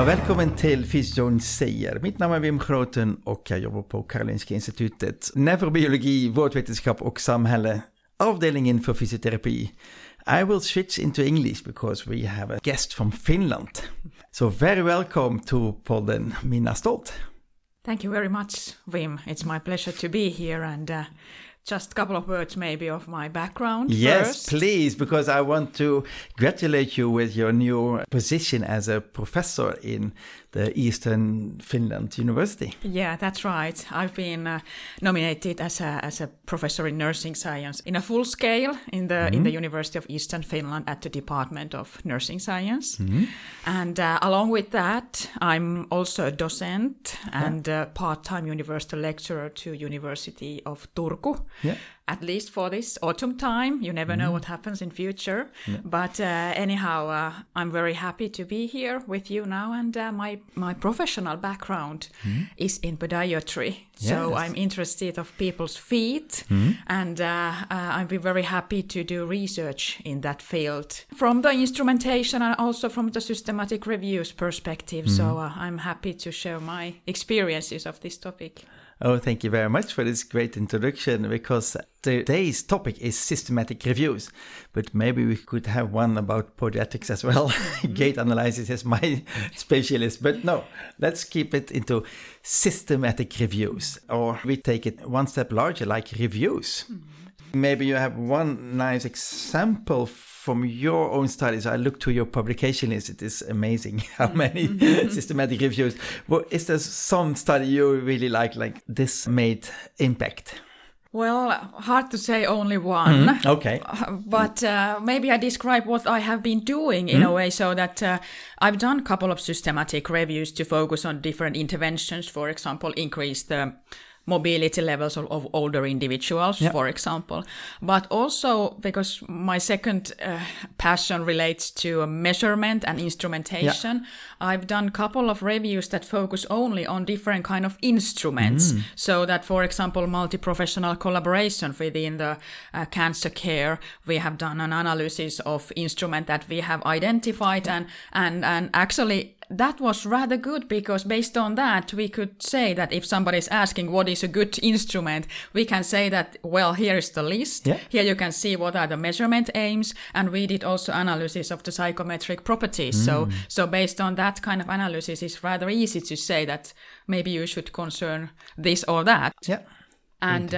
Välkommen till Fysiologin säger. Mitt namn är Wim Groten och jag jobbar på Karolinska institutet. Neurobiologi, vårdvetenskap och samhälle. Avdelningen för fysioterapi. I will switch into English because we have a guest from Finland. So very welcome to podden Minna Stolt. Thank you very much, Wim. It's my pleasure to be here and just a couple of words maybe of my background Yes, first. please, because I want to congratulate you with your new position as a professor in the Eastern Finland University. Yeah, that's right. I've been nominated as a professor in nursing science in a full scale in the University of Eastern Finland at the Department of Nursing Science. And along with that, I'm also a docent and a part-time university lecturer to University of Turku. Yeah. At least for this autumn time. You never know what happens in future. But anyhow, I'm very happy to be here with you now. And my professional background is in podiatry. So I'm interested of people's feet. And I'd be very happy to do research in that field. From the instrumentation and also from the systematic reviews perspective. So I'm happy to share my experiences of this topic. Oh, thank you very much for this great introduction, because today's topic is systematic reviews, but maybe we could have one about podiatrics as well. Gait analysis is my specialist, but no, let's keep it into systematic reviews, or we take it one step larger, like reviews. Maybe you have one nice example from your own studies. I looked to your publication list. It is amazing how many systematic reviews. Well, is there some study you really like this made impact? Well, hard to say only one. Okay. But maybe I describe what I have been doing in a way, so that I've done a couple of systematic reviews to focus on different interventions, for example, increase the mobility levels of older individuals, for example. But also because my second passion relates to measurement and instrumentation, I've done a couple of reviews that focus only on different kind of instruments. So that, for example, multi-professional collaboration within the cancer care, we have done an analysis of instrument that we have identified and actually that was rather good, because based on that, we could say that if somebody is asking what is a good instrument, we can say that, well, here is the list. Yeah. Here you can see what are the measurement aims. And we did also analysis of the psychometric properties. So based on that kind of analysis, it's rather easy to say that maybe you should concern this or that. Yeah. And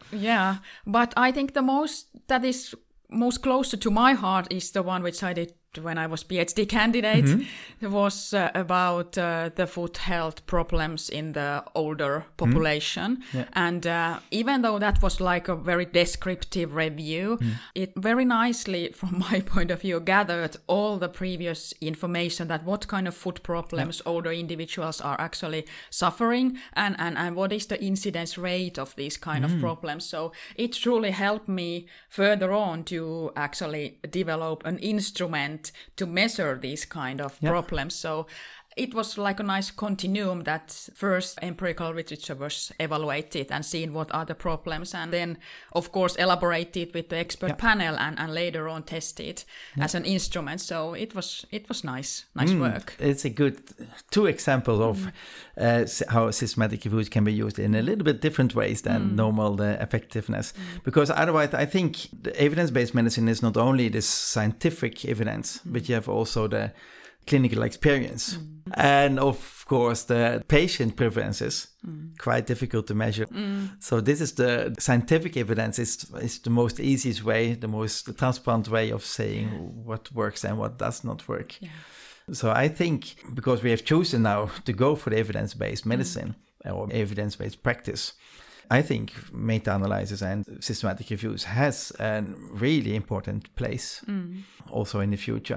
but I think that is most closer to my heart is the one which I did when I was PhD candidate. It was about the foot health problems in the older population. And even though that was like a very descriptive review, it very nicely, from my point of view, gathered all the previous information that what kind of foot problems older individuals are actually suffering and what is the incidence rate of these kind of problems. So it truly helped me further on to actually develop an instrument to measure these kind of problems. So it was like a nice continuum that first empirical literature was evaluated and seen what are the problems, and then of course elaborated with the expert panel and later on tested as an instrument. So it was nice work. It's a good two examples of how systematic reviews can be used in a little bit different ways than normal effectiveness. Because otherwise I think the evidence-based medicine is not only the scientific evidence, but you have also the clinical experience. And of course the patient preferences, quite difficult to measure. So this is the scientific evidence is the most easiest way, the most transparent way of saying what works and what does not work. So I think because we have chosen now to go for the evidence-based medicine or evidence-based practice, I think meta-analysis and systematic reviews has a really important place also in the future.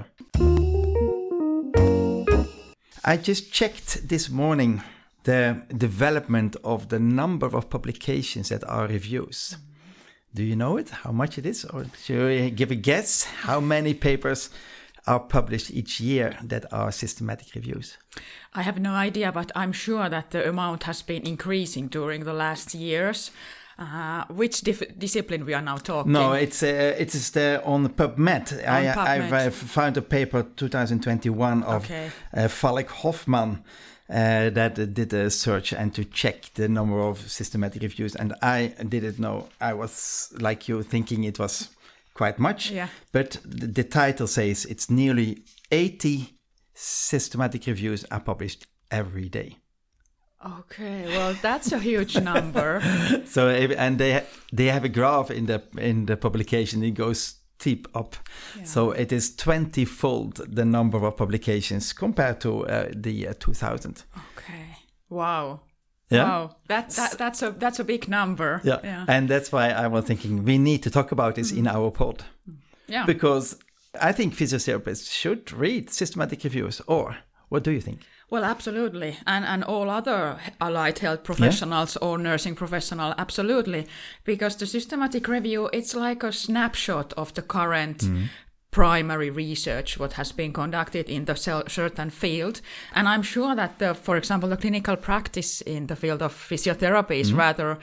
I just checked this morning the development of the number of publications that are reviews. Do you know it? How much it is? Or should we give a guess? How many papers are published each year that are systematic reviews? I have no idea, but I'm sure that the amount has been increasing during the last years. Which discipline we are now talking? No, it's on PubMed. I've found a paper 2021 of Falk Hoffman that did a search and to check the number of systematic reviews, and I didn't know. I was like you, thinking it was quite much, but the title says it's nearly 80 systematic reviews are published every day. Okay, well, that's a huge number. So, and they have a graph in the publication. It goes steep up. Yeah. So it is 20-fold the number of publications compared to the year 2000. Okay. Wow. Yeah. Wow. That's a big number. Yeah. And that's why I was thinking we need to talk about this in our pod. Yeah. Because I think physiotherapists should read systematic reviews. Or what do you think? Well, absolutely. And all other allied health professionals or nursing professional, absolutely. Because the systematic review, it's like a snapshot of the current primary research, what has been conducted in the certain field. And I'm sure that, for example, the clinical practice in the field of physiotherapy is rather,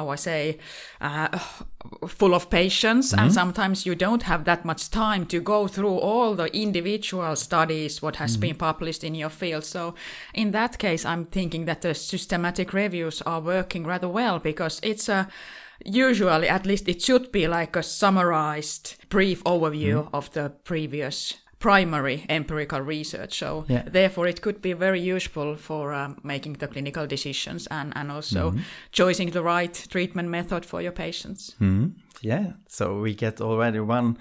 full of patients. And sometimes you don't have that much time to go through all the individual studies, what has been published in your field. So in that case, I'm thinking that the systematic reviews are working rather well, because it's usually, at least it should be like a summarized brief overview of the previous primary empirical research. So therefore it could be very useful for making the clinical decisions and also choosing the right treatment method for your patients. Yeah, so we get already one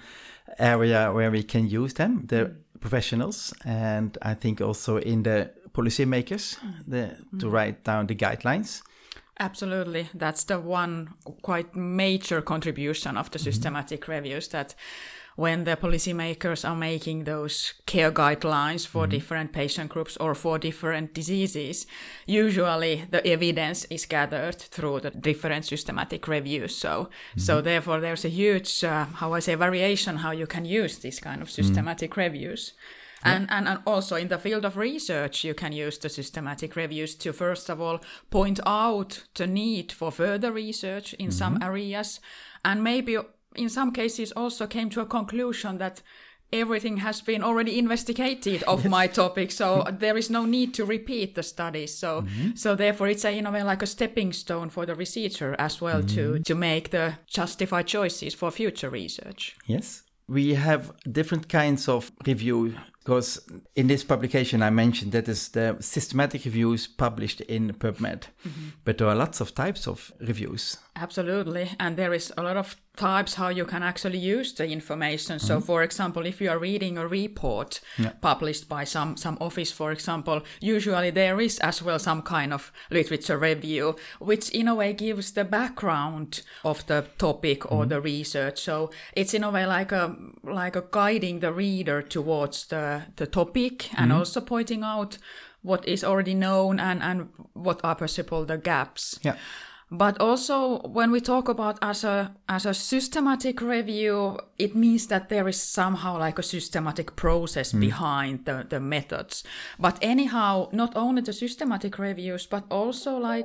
area where we can use them, the professionals, and I think also in the policymakers to write down the guidelines. Absolutely. That's the one quite major contribution of the systematic reviews, that when the policymakers are making those care guidelines for different patient groups or for different diseases, usually the evidence is gathered through the different systematic reviews. So therefore there's a huge, variation how you can use these kind of systematic reviews. And also in the field of research, you can use the systematic reviews to, first of all, point out the need for further research in some areas, and maybe in some cases also came to a conclusion that everything has been already investigated of my topic, so there is no need to repeat the studies. So therefore it's in a way like a stepping stone for the researcher as well to make the justified choices for future research. Yes. We have different kinds of review, because in this publication I mentioned that is the systematic reviews published in PubMed, but there are lots of types of reviews. Absolutely, and there is a lot of types how you can actually use the information. So for example, if you are reading a report published by some office, for example, usually there is as well some kind of literature review, which in a way gives the background of the topic or the research. So it's in a way like a guiding the reader towards the topic and also pointing out what is already known and what are possible the gaps. Yeah. But also, when we talk about as a systematic review, it means that there is somehow like a systematic process behind the methods. But anyhow, not only the systematic reviews, but also like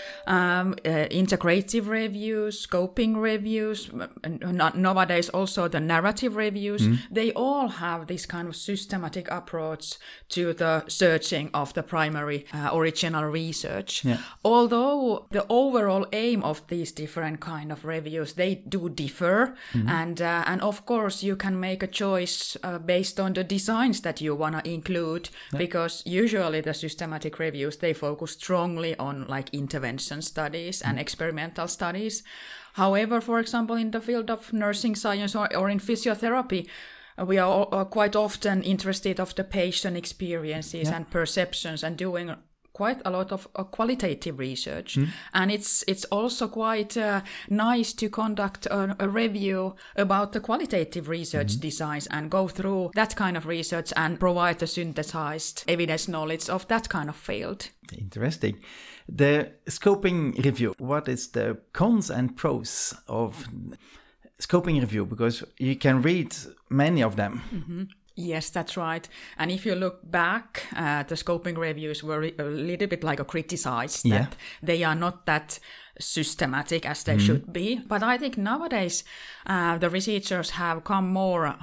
integrative reviews, scoping reviews, nowadays also the narrative reviews, they all have this kind of systematic approach to the searching of the primary original research. Yeah. Although the overall aim of these different kind of reviews, they do differ, and of course you can make a choice based on the designs that you want to include, because usually the systematic reviews, they focus strongly on like intervention studies and experimental studies. However, for example, in the field of nursing science or in physiotherapy, we are quite often interested of the patient experiences and perceptions, and doing quite a lot of qualitative research. And it's also quite nice to conduct a review about the qualitative research designs and go through that kind of research and provide the synthesized evidence knowledge of that kind of field. Interesting. The scoping review, what is the cons and pros of scoping review? Because you can read many of them. Yes, that's right. And if you look back, the scoping reviews were a little bit like criticized that they are not that systematic as they should be. But I think nowadays the researchers have come more,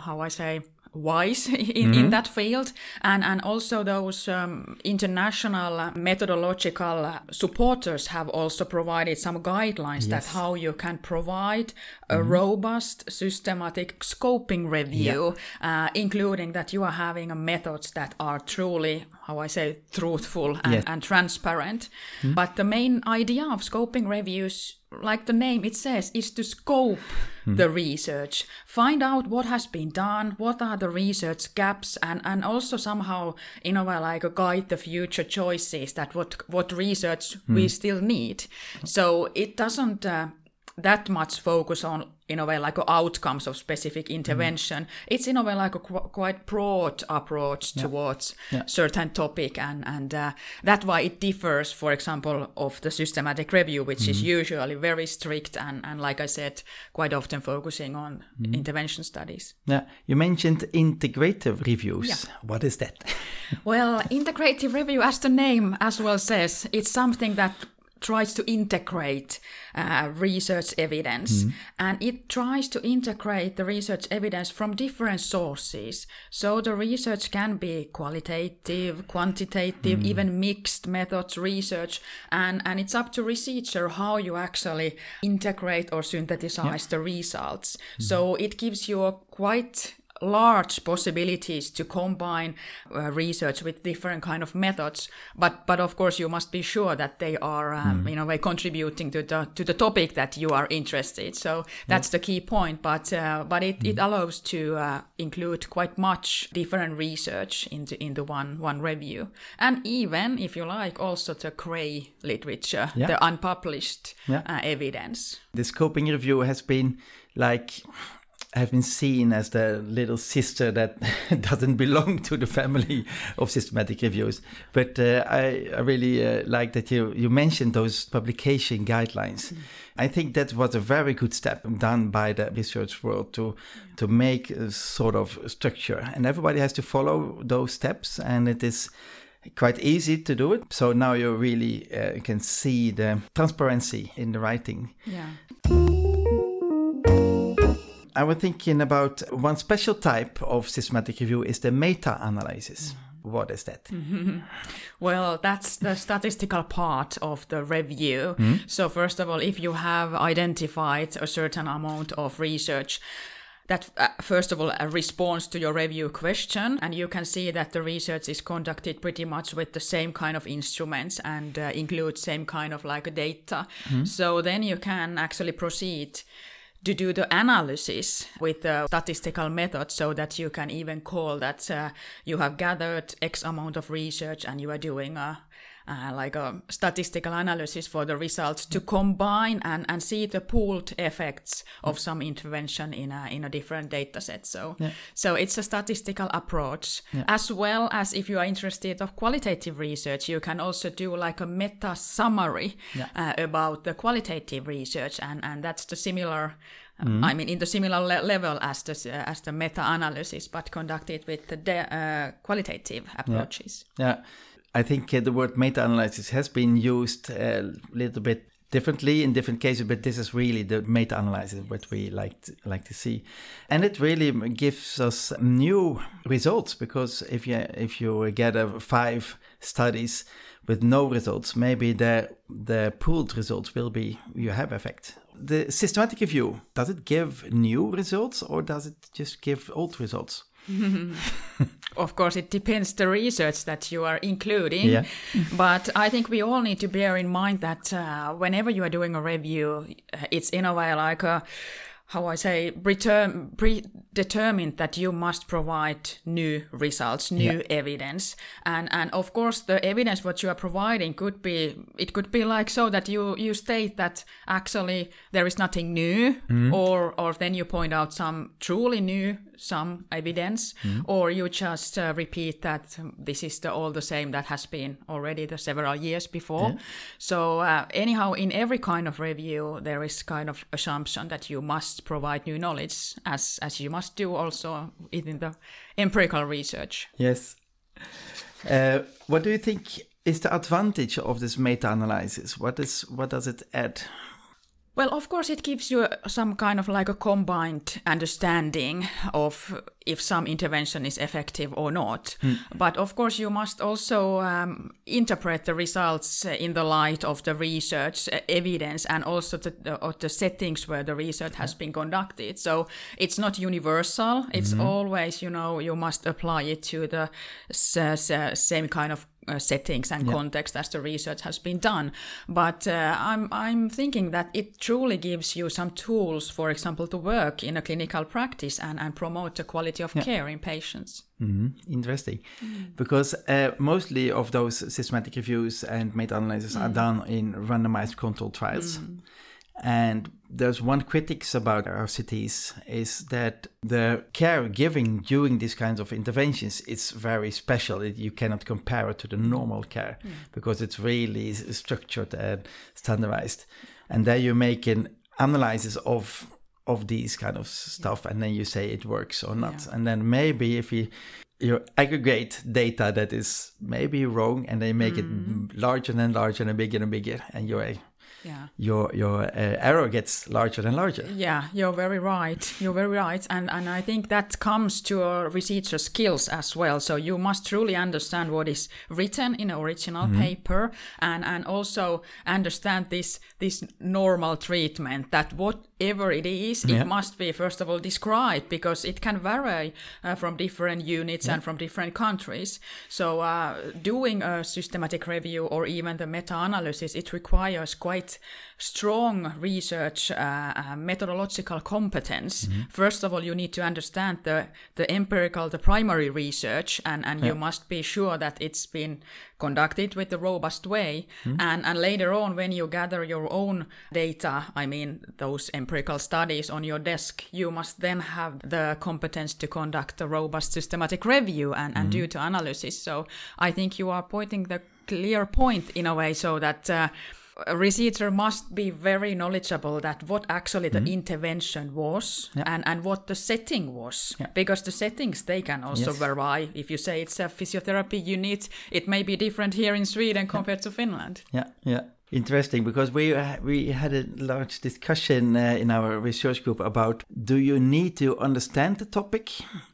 wise in that field, and also those international methodological supporters have also provided some guidelines that how you can provide a robust systematic scoping review, including that you are having methods that are truly truthful and transparent. But the main idea of scoping reviews, like the name it says, is to scope the research, find out what has been done, what are the research gaps, and also somehow, in a way, like guide the future choices that what research we still need. So it doesn't that much focus on, in a way, like outcomes of specific intervention. It's in a way like a quite broad approach towards certain topic, and that's why it differs, for example, of the systematic review, which is usually very strict and like I said, quite often focusing on intervention studies. Yeah, you mentioned integrative reviews. Yeah. What is that? Well, integrative review, as the name as well says, it's something that tries to integrate research evidence, and it tries to integrate the research evidence from different sources. So the research can be qualitative, quantitative, even mixed methods research, and it's up to researcher how you actually integrate or synthesize the results. So it gives you a quite large possibilities to combine research with different kind of methods, but of course you must be sure that they are in a way contributing to the topic that you are interested. So that's the key point. But it allows to include quite much different research into one review, and even, if you like, also the grey literature, the unpublished evidence. The scoping review has been have been seen as the little sister that doesn't belong to the family of systematic reviews. But I really like that you mentioned those publication guidelines. I think that was a very good step done by the research world to make a sort of structure. And everybody has to follow those steps, and it is quite easy to do it. So now you really can see the transparency in the writing. Yeah. I was thinking about one special type of systematic review is the meta-analysis. What is that? Well, that's the statistical part of the review. So first of all, if you have identified a certain amount of research that, first of all, responds to your review question, and you can see that the research is conducted pretty much with the same kind of instruments and includes same kind of like data. So then you can actually proceed to do the analysis with the statistical method, so that you can even call that you have gathered X amount of research and you are doing a statistical analysis for the results to combine and see the pooled effects of some intervention in a different data set. So it's a statistical approach, as well as, if you are interested of qualitative research, you can also do like a meta summary about the qualitative research, and that's the similar. I mean, in the similar level as the meta-analysis, but conducted with the qualitative approaches. Yeah. I think the word meta-analysis has been used a little bit differently in different cases, but this is really the meta-analysis what we like to see, and it really gives us new results, because if you gather 5 studies with no results, maybe the pooled results will be you have effect. The systematic review, does it give new results or does it just give old results? Of course, it depends the research that you are including. But I think we all need to bear in mind that whenever you are doing a review, it's in a way like a, predetermined that you must provide new results, new evidence. And of course, the evidence what you are providing could be like so that you state that actually there is nothing new, or then you point out some truly new some evidence, or you just repeat that this is all the same that has been already the several years before. So anyhow, in every kind of review, there is kind of assumption that you must provide new knowledge, as you must do also in the empirical research. Yes. What do you think is the advantage of this meta-analysis? What does it add? Well, of course, it gives you some kind of like a combined understanding of if some intervention is effective or not. But of course, you must also interpret the results in the light of the research evidence and also the settings where the research has been conducted. So it's not universal. It's always, you must apply it to the same kind of settings and context as the research has been done. But I'm thinking that it truly gives you some tools, for example, to work in a clinical practice and promote the quality of care in patients. Interesting. Because mostly of those systematic reviews and meta-analysis are done in randomized controlled trials. And there's one critics about RCTs is that the care given during these kinds of interventions is very special. You cannot compare it to the normal care because it's really structured and standardized. And there you make an analysis of these kind of stuff, and then you say it works or not. And then maybe if you aggregate data that is maybe wrong, and they make it larger and larger and bigger, and your error gets larger and larger. Yeah, you're very right. And I think that comes to researcher skills as well. So you must truly understand what is written in an original paper and also understand this normal treatment, that whatever it is, it must be, first of all, described, because it can vary from different units and from different countries. So doing a systematic review or even the meta-analysis, it requires quite strong research methodological competence. First of all, you need to understand the empirical, the primary research, and you must be sure that it's been conducted with a robust way. And later on, when you gather your own data, I mean those empirical studies on your desk, you must then have the competence to conduct a robust systematic review and do the analysis. So I think you are pointing the clear point in a way, so that a researcher must be very knowledgeable that what actually the intervention was and what the setting was, because the settings, they can also vary. If you say it's a physiotherapy unit, it may be different here in Sweden compared to Finland. Interesting, because we had a large discussion in our research group about, do you need to understand the topic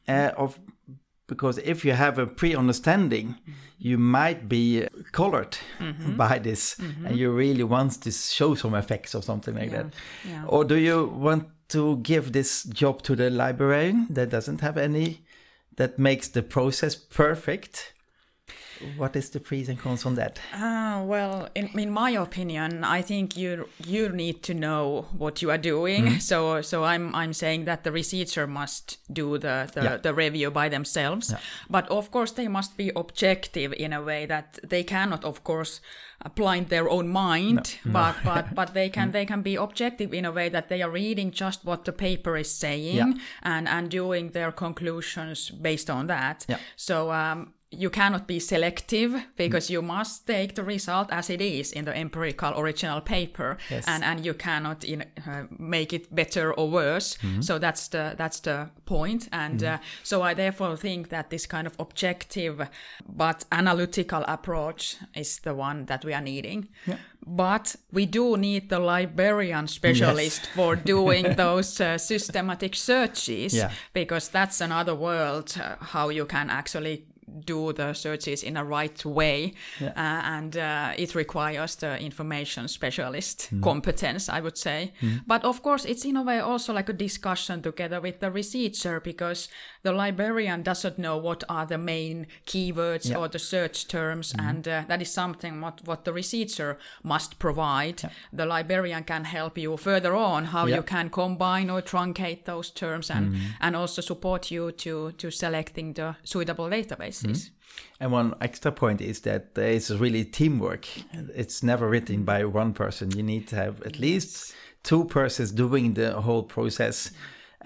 because if you have a pre-understanding, you might be colored by this, and you really want to show some effects or something like that. Or do you want to give this job to the librarian that doesn't have any, that makes the process perfect? What is the pros and cons on that? Well, in my opinion, I think you need to know what you are doing. So I'm saying that the researcher must do the review by themselves. But of course, they must be objective in a way that they cannot, of course, blind their own mind. But they can be objective in a way that they are reading just what the paper is saying and doing their conclusions based on that. So you cannot be selective, because you must take the result as it is in the empirical original paper, and you cannot make it better or worse. So that's the point. And so I therefore think that this kind of objective but analytical approach is the one that we are needing. But we do need the librarian specialist for doing those systematic searches, because that's another world, how you can actually do the searches in a right way, and it requires the information specialist competence, I would say. But of course, it's in a way also like a discussion together with the researcher, because the librarian doesn't know what are the main keywords or the search terms, and that is something what the researcher must provide. The librarian can help you further on how you can combine or truncate those terms, and also support you to selecting the suitable databases. And one extra point is that there is really teamwork. It's never written by one person. You need to have at least two persons doing the whole process.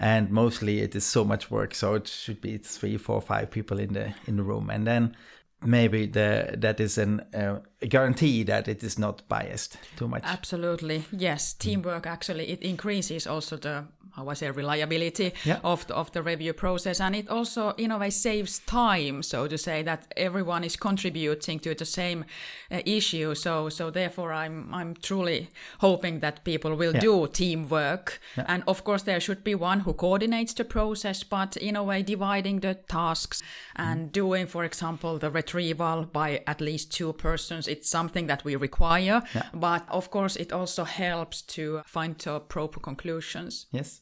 and mostly it is so much work, so it should be 3, 4, 5 people in the room, and then maybe that is a guarantee that it is not biased too much. Absolutely, yes. Teamwork actually, it increases also the reliability of the review process, and it also in a way saves time, so to say, that everyone is contributing to the same issue. So therefore I'm truly hoping that people will do teamwork, and of course there should be one who coordinates the process, but in a way dividing the tasks and doing, for example, the retrieval by at least 2 persons. It's something that we require, but of course it also helps to find the proper conclusions. Yes.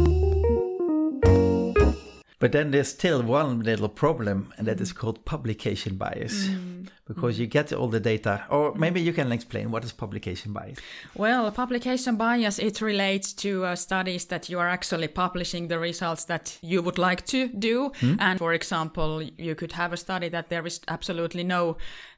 But then there's still one little problem, and that is called publication bias. Because you get all the data, or maybe you can explain what is publication bias. Well, publication bias, it relates to studies that you are actually publishing the results that you would like to do. And for example, you could have a study that there is absolutely no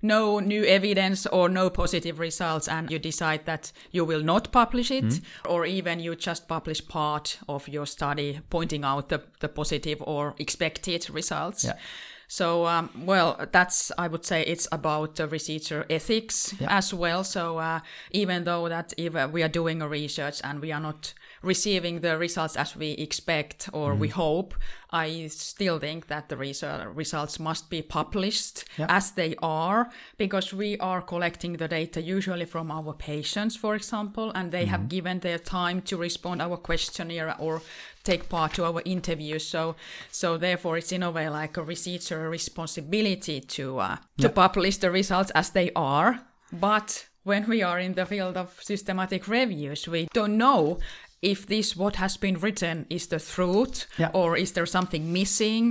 new evidence or no positive results, and you decide that you will not publish it, or even you just publish part of your study pointing out the positive or expected results. Yeah. So, that's, I would say, it's about researcher ethics as well. So even though that if we are doing a research and we are not receiving the results as we expect or we hope, I still think that the results must be published as they are, because we are collecting the data usually from our patients, for example, and they have given their time to respond our questionnaire or take part to our interviews. So therefore it's in a way like a researcher responsibility to publish the results as they are. But when we are in the field of systematic reviews, we don't know if this what has been written is the truth, or is there something missing,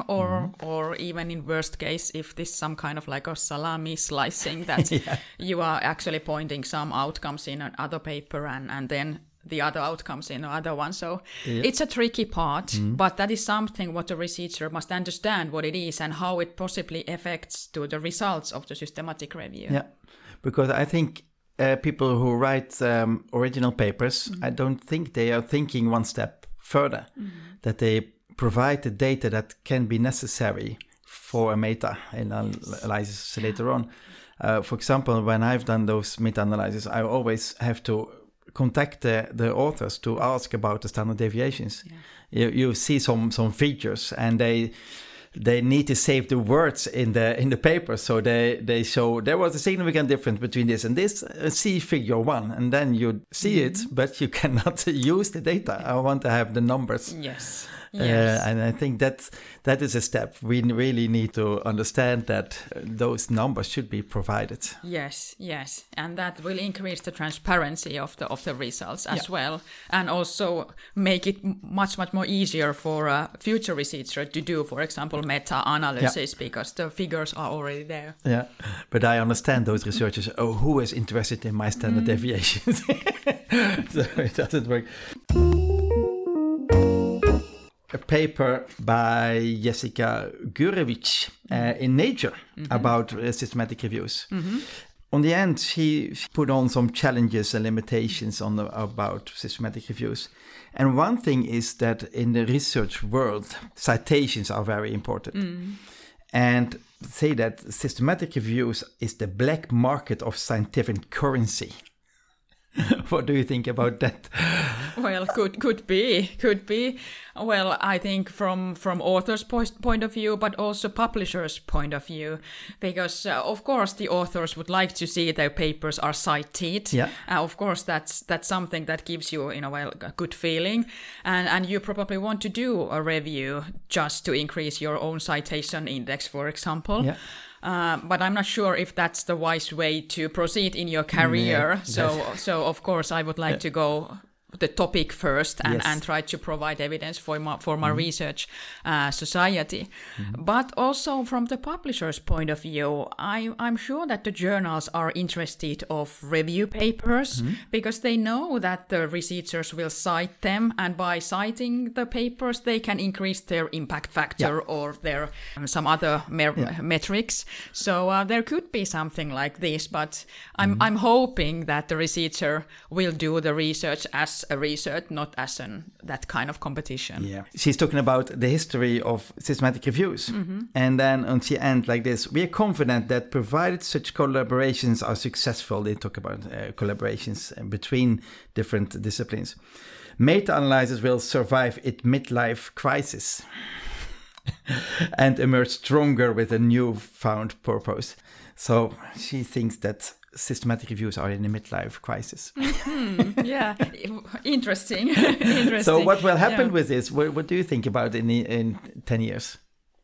or even in worst case, if this some kind of like a salami slicing that you are actually pointing some outcomes in another paper and then the other outcomes in another one. So it's a tricky part, but that is something what the researcher must understand what it is and how it possibly affects to the results of the systematic review. Yeah, because I think people who write original papers, I don't think they are thinking one step further, that they provide the data that can be necessary for a meta-analysis later on. For example, when I've done those meta-analyses, I always have to contact the authors to ask about the standard deviations. You see some features, and they need to save the words in the paper, so they show there was a significant difference between this and this. See figure 1, and then you see it, but you cannot use the data. I want to have the numbers. Yes. And I think that is a step. We really need to understand that those numbers should be provided. Yes, and that will increase the transparency of the results as well, and also make it much more easier for a future researcher to do, for example, meta-analysis, because the figures are already there. Yeah, but I understand those researchers. Oh, who is interested in my standard deviations? So it doesn't work. A paper by Jessica Gurevich in Nature about systematic reviews. On the end, she put on some challenges and limitations about systematic reviews. And one thing is that in the research world, citations are very important. And say that systematic reviews is the black market of scientific currency. What do you think about that? Well, could be. Well, I think from author's point of view, but also publisher's point of view, because of course the authors would like to see their papers are cited. Of course, that's something that gives you in a way a good feeling, and you probably want to do a review just to increase your own citation index, for example. But I'm not sure if that's the wise way to proceed in your career. So of course I would like to go the topic first and try to provide evidence for my research society. But also from the publisher's point of view, I'm sure that the journals are interested of review papers because they know that the researchers will cite them, and by citing the papers they can increase their impact factor or their some other metrics. So there could be something like this, but I'm hoping that the researcher will do the research as as a research, not as that kind of competition. Yeah, she's talking about the history of systematic reviews. And then on the end like this, we are confident that provided such collaborations are successful, they talk about collaborations between different disciplines, meta-analysis will survive its midlife crisis and emerge stronger with a newfound purpose. So she thinks that systematic reviews are in a midlife crisis. Yeah, interesting. Interesting. So what will happen with this? What do you think about in 10 years?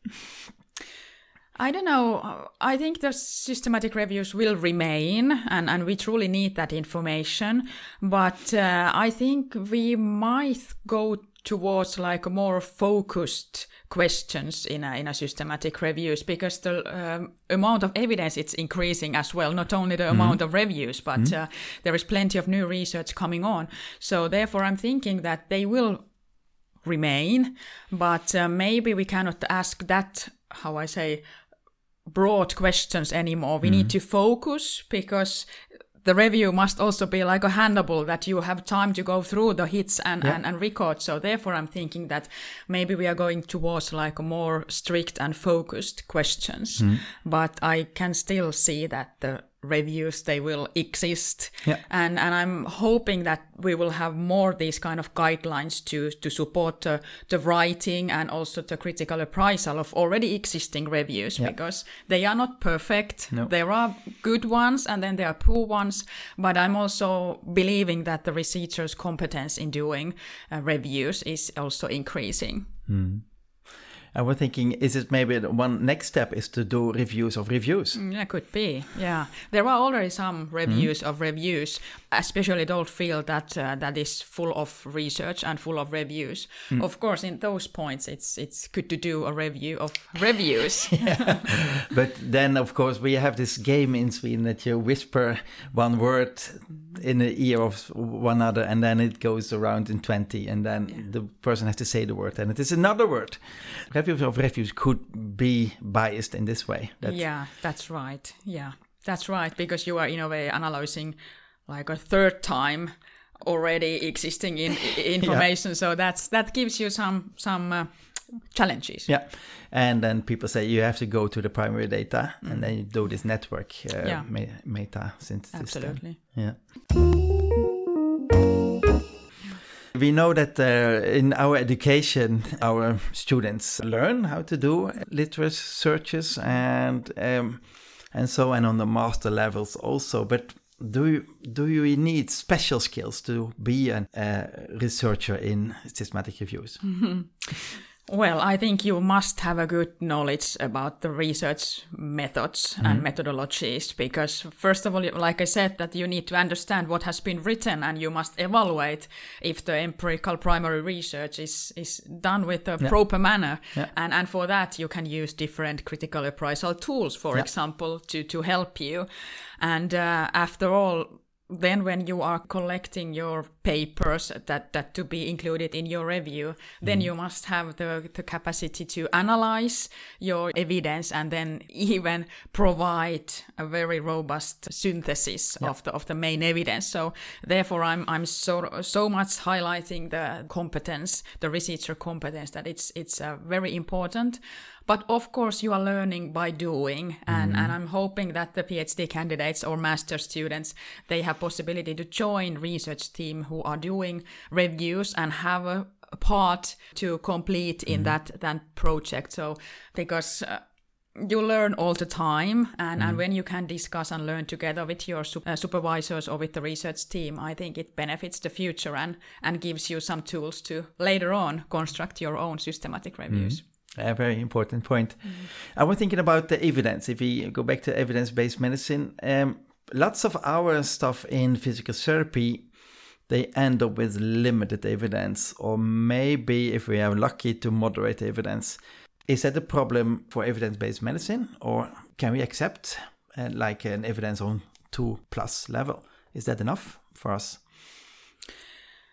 I don't know. I think the systematic reviews will remain, and we truly need that information. But I think we might go towards like a more focused questions in a systematic reviews, because the amount of evidence it's increasing as well, not only the amount of reviews, but there is plenty of new research coming on. So therefore I'm thinking that they will remain, but maybe we cannot ask that, how I say, broad questions anymore. We need to focus, because the review must also be like a handable, that you have time to go through the hits and record. So therefore I'm thinking that maybe we are going towards like a more strict and focused questions. But I can still see that the reviews, they will exist. And I'm hoping that we will have more these kind of guidelines to support the writing and also the critical appraisal of already existing reviews, because they are not perfect. There are good ones and then there are poor ones, but I'm also believing that the researchers' competence in doing reviews is also increasing. I was thinking, is it maybe one next step is to do reviews of reviews? Yeah, could be. Yeah, there are already some reviews of reviews, especially those field that is full of research and full of reviews. Of course, in those points, it's good to do a review of reviews. But then, of course, we have this game in Sweden that you whisper one word in the ear of one other, and then it goes around in 20, and then the person has to say the word, and it is another word. Reviews of reviews could be biased in this way. That's right. Yeah, that's right, because you are in a way analyzing like a third time already existing information. So that gives you some challenges. Yeah, and then people say you have to go to the primary data, and then you do this network meta synthesis. Absolutely. Yeah. We know that in our education, our students learn how to do literature searches and so on the master levels also. But do you need special skills to be a researcher in systematic reviews? Well, I think you must have a good knowledge about the research methods and methodologies, because first of all, like I said, that you need to understand what has been written, and you must evaluate if the empirical primary research is done with a proper manner. And for that, you can use different critical appraisal tools, for example, to help you. And after all, then when you are collecting your papers that to be included in your review, then you must have the capacity to analyze your evidence and then even provide a very robust synthesis of the main evidence. So therefore I'm so much highlighting the competence, the researcher competence, that it's very important. But of course, you are learning by doing, and I'm hoping that the PhD candidates or master students, they have possibility to join research team who are doing reviews and have a part to complete in that project. So because you learn all the time, and when you can discuss and learn together with your supervisors or with the research team, I think it benefits the future and gives you some tools to later on construct your own systematic reviews. A very important point. I was thinking about the evidence. If we go back to evidence-based medicine, lots of our stuff in physical therapy, they end up with limited evidence, or maybe if we are lucky to moderate evidence. Is that a problem for evidence-based medicine, or can we accept like an evidence on 2+ level? Is that enough for us?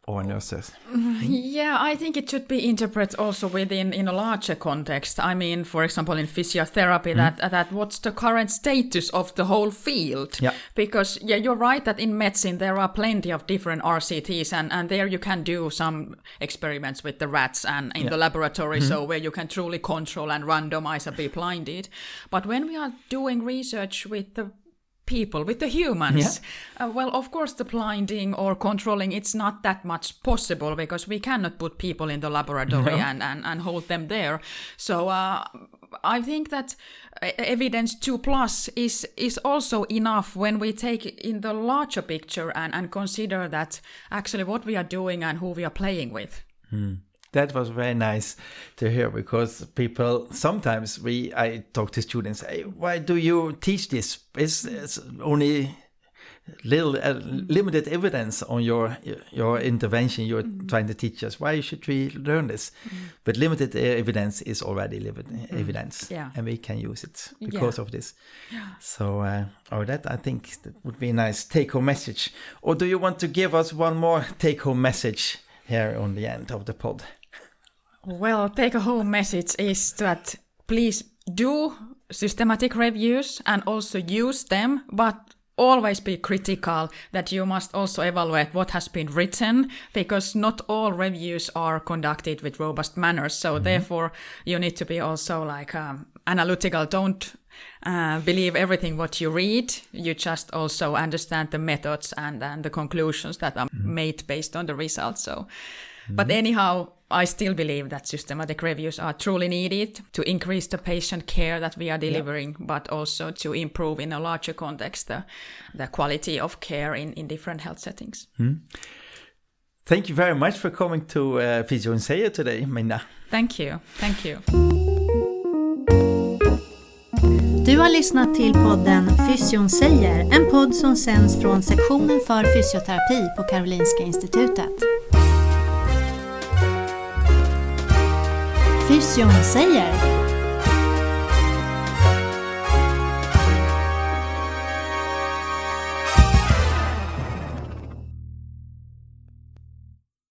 or nurses? Yeah, I think it should be interpreted also in a larger context. I mean, for example, in physiotherapy, that what's the current status of the whole field? Yeah. Because, you're right that in medicine there are plenty of different RCTs, and there you can do some experiments with the rats and in the laboratory, so where you can truly control and randomize and be blinded. But when we are doing research with the people, with the humans, well, of course the blinding or controlling, it's not that much possible because we cannot put people in the laboratory and hold them there. So I think that evidence 2+ is also enough when we take in the larger picture and consider that actually what we are doing and who we are playing with. That was very nice to hear, because people sometimes I talk to students, hey, why do you teach this? It's only limited evidence on your intervention you're trying to teach us. Why should we learn this? But limited evidence is already evidence, and we can use it because of this. So that I think that would be a nice take-home message. Or do you want to give us one more take-home message here on the end of the pod? Well, take-home message is that please do systematic reviews and also use them, but always be critical, that you must also evaluate what has been written, because not all reviews are conducted with robust manners. So therefore, you need to be also analytical. Don't believe everything what you read. You just also understand the methods and the conclusions that are made based on the results. So, but anyhow, I still believe that systematic reviews are truly needed to increase the patient care that we are delivering, but also to improve in a larger context the quality of care in different health settings. Thank you very much for coming to Physio & Säger today, Minna. Thank you. Thank you. Du har lyssnat till podden Physio & Säger, en podd som sänds från sektionen för fysioterapi på Karolinska Institutet. Physio & Säger.